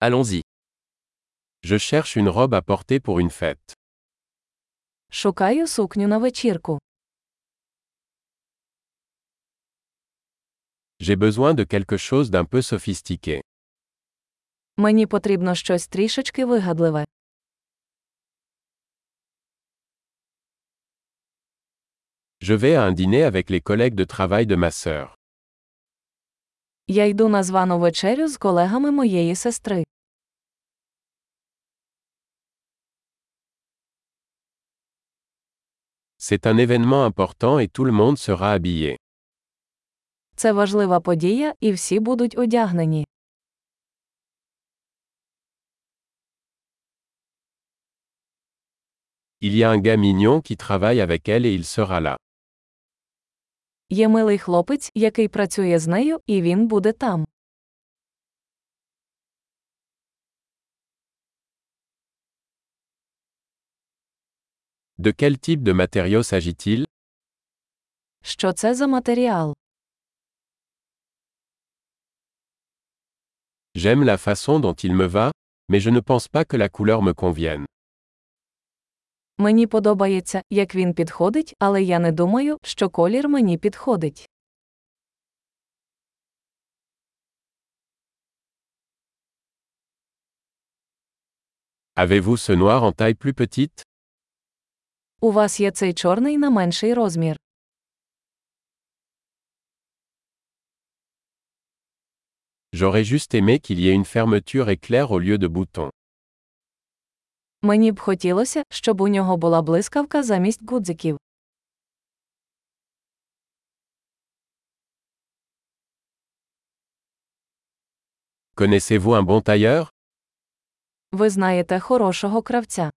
Allons-y. Je cherche une robe à porter pour une fête. Шукаю сукню на вечірку. J'ai besoin de quelque chose d'un peu sophistiqué. Мені потрібно щось трішечки вигадливе. Je vais à un dîner avec les collègues de travail de ma sœur. Я йду на звану вечерю з колегами моєї сестри. C'est un événement important et tout le monde sera habillé. Це важлива подія, і всі будуть одягнені. Il y a un gars mignon qui travaille avec elle et il sera là. Є милий хлопець, який працює з нею, і він буде там. De quel type de matériau s'agit-il? Що це за матеріал? J'aime la façon dont il me va, mais je ne pense pas que la couleur me convienne. Мені подобається, як він підходить, але я не думаю, що колір мені підходить. Avez-vous ce noir en taille plus petite? У вас є цей чорний на менший розмір. J'aurais juste aimé qu'il y ait une fermeture éclair au lieu de boutons. Мені б хотілося, щоб у нього була блискавка замість гудзиків. Connaissez-vous un bon tailleur? Ви знаєте хорошого кравця.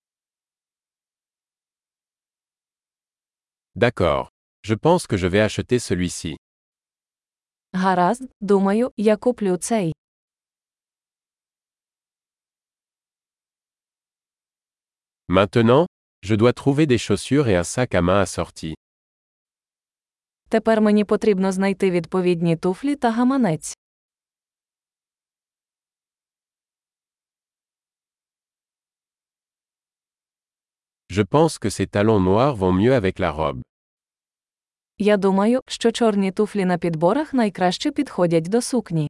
D'accord. Je pense que je vais acheter celui-ci. Гаразд, думаю, я куплю цей. Maintenant, je dois trouver des chaussures et un sac à main assorti. Тепер мені потрібно знайти відповідні туфлі та гаманець. Je pense que ces talons noirs vont mieux avec la robe. Я думаю, що чорні туфлі на підборах найкраще підходять до сукні.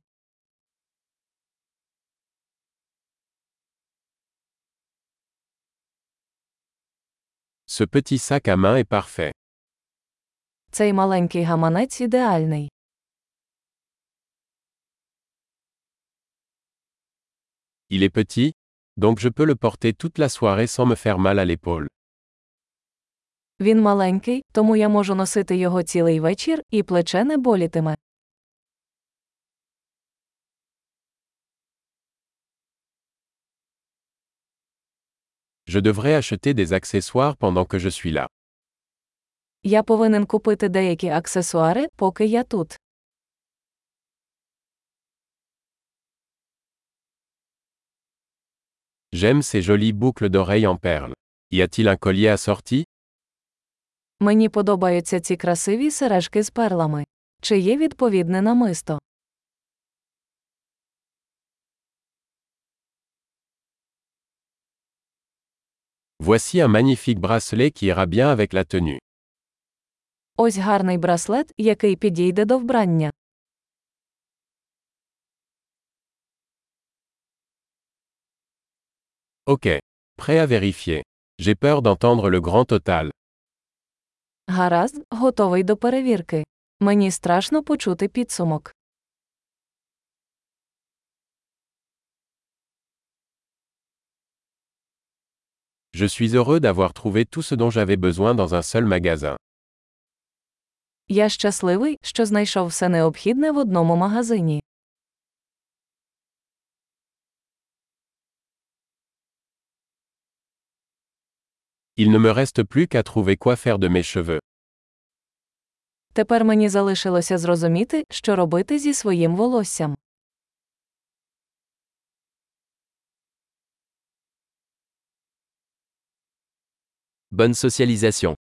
Ce petit sac à main est parfait. Цей маленький гаманець ідеальний. Il est petit, donc je peux le porter toute la soirée sans me faire mal à l'épaule. Він маленький, тому я можу носити його цілий вечір, і плече не болітиме. Je devrais acheter des accessoires pendant que je suis là. Я повинен купити деякі аксесуари, поки я тут. J'aime ces jolies boucles d'oreilles en perles. Y a-t-il un collier assorti? Мені подобаються ці красиві сережки з перлами. Чи є відповідне намисто? Voici un magnifique bracelet qui ira bien avec la tenue. Ось гарний браслет, який підійде до вбрання. Ok. Prêt à vérifier. J'ai peur d'entendre le grand total. Гаразд, готовий до перевірки. Мені страшно почути підсумок. Je suis heureux d'avoir trouvé tout ce dont j'avais besoin dans un seul magasin. Я щасливий, що знайшов все необхідне в одному магазині. Il ne me reste plus qu'à trouver quoi faire de mes cheveux. Тепер мені залишилося зрозуміти, що робити зі своїм волоссям. Bonne socialisation.